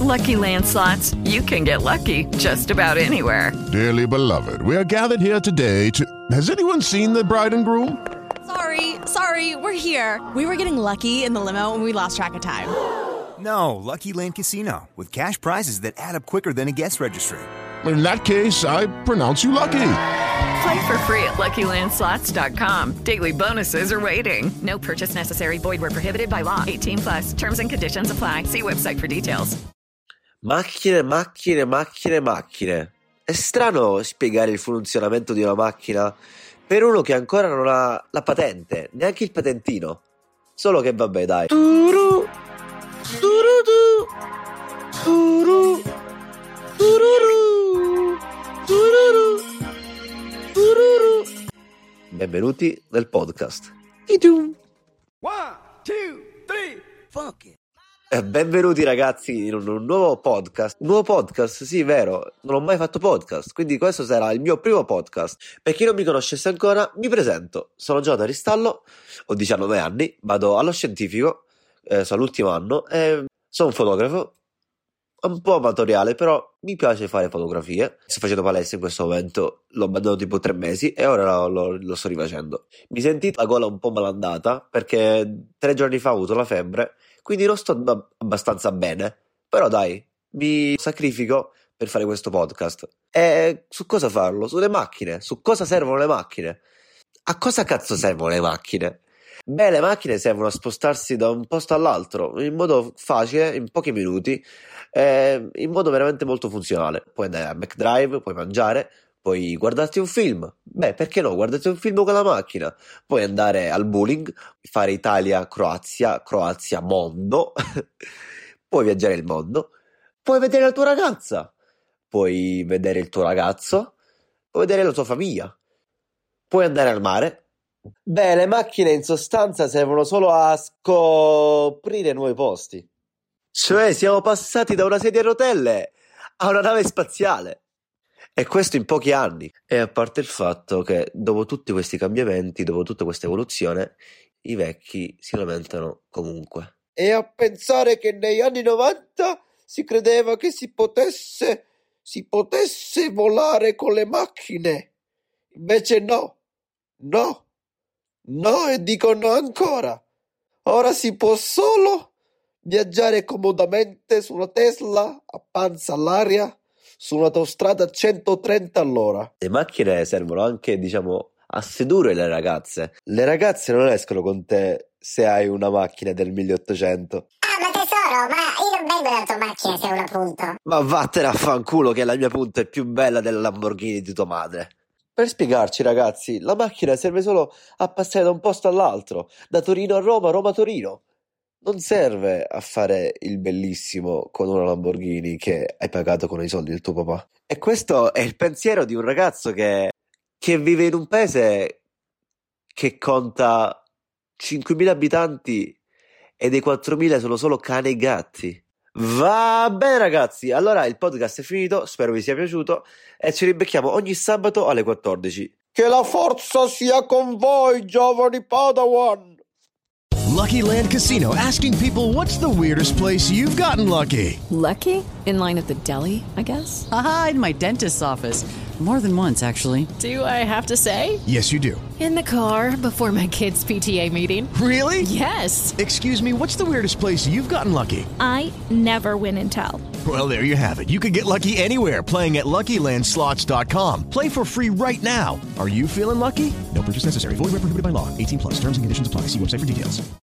Lucky Land Slots, you can get lucky just about anywhere. Dearly beloved, we are gathered here today to... Has anyone seen the bride and groom? Sorry, we're here. We were getting lucky in the limo and we lost track of time. No, Lucky Land Casino, with cash prizes that add up quicker than a guest registry. In that case, I pronounce you lucky. Play for free at LuckyLandSlots.com. Daily bonuses are waiting. No purchase necessary. Void where prohibited by law. 18+. Terms and conditions apply. See website for details. Macchine. È strano spiegare il funzionamento di una macchina per uno che ancora non ha la patente, neanche il patentino. Solo che vabbè, dai. Turu, tururu, turu, tururu, tururu, tururu. Benvenuti nel podcast. One, two, three, fuck it. Benvenuti ragazzi in un nuovo podcast. Un nuovo podcast, sì, vero. Non ho mai fatto podcast, quindi questo sarà il mio primo podcast. Per chi non mi conoscesse ancora, mi presento. Sono Giada Ristallo, ho 19 anni, vado allo scientifico, sono all'ultimo anno e sono un fotografo. Un po' amatoriale, però mi piace fare fotografie. Sto facendo palestra in questo momento, l'ho abbandonato tipo 3 mesi e ora lo sto rifacendo. Mi sentite la gola un po' malandata perché 3 giorni fa ho avuto la febbre, quindi non sto abbastanza bene, però dai, mi sacrifico per fare questo podcast. E su cosa farlo? Sulle macchine, su cosa servono le macchine. A cosa cazzo servono le macchine? Beh, le macchine servono a spostarsi da un posto all'altro in modo facile, in pochi minuti, in modo veramente molto funzionale. Puoi andare a McDrive, puoi mangiare, puoi guardarti un film. Beh, perché no? Guardati un film con la macchina. Puoi andare al bowling, fare Italia-Croazia, Croazia-Mondo. Puoi viaggiare il mondo. Puoi vedere la tua ragazza. Puoi vedere il tuo ragazzo. Puoi vedere la tua famiglia. Puoi andare al mare. Beh, le macchine in sostanza servono solo a scoprire nuovi posti. Cioè, siamo passati da una sedia a rotelle a una nave spaziale. E questo in pochi anni. E a parte il fatto che dopo tutti questi cambiamenti, dopo tutta questa evoluzione, i vecchi si lamentano comunque. E a pensare che negli anni 90 si credeva che si potesse volare con le macchine. Invece no, e dicono ancora. Ora si può solo viaggiare comodamente su una Tesla a panza all'aria su un'autostrada a 130 all'ora. Le macchine servono anche, a sedurre le ragazze. Le ragazze non escono con te se hai una macchina del 1800. Ah, ma tesoro, ma io non vengo dalla tua macchina se è una punto. Ma vattene a fanculo che la mia punta è più bella della Lamborghini di tua madre. Per spiegarci ragazzi, la macchina serve solo a passare da un posto all'altro, da Torino a Roma, Roma a Torino. Non serve a fare il bellissimo con una Lamborghini che hai pagato con i soldi del tuo papà. E questo è il pensiero di un ragazzo che vive in un paese che conta 5.000 abitanti e dei 4.000 sono solo cani e gatti. Va bene ragazzi, allora il podcast è finito, spero vi sia piaciuto e ci ribecchiamo ogni sabato alle 14. Che la forza sia con voi, giovani Padawan! Lucky Land Casino, asking people, what's the weirdest place you've gotten lucky? Lucky? In line at the deli, I guess? Aha, in my dentist's office. More than once, actually. Do I have to say? Yes, you do. In the car before my kids' PTA meeting. Really? Yes. Excuse me, what's the weirdest place you've gotten lucky? I never win and tell. Well, there you have it. You can get lucky anywhere, playing at LuckyLandSlots.com. Play for free right now. Are you feeling lucky? No purchase necessary. Void where prohibited by law. 18+. Terms and conditions apply. See website for details.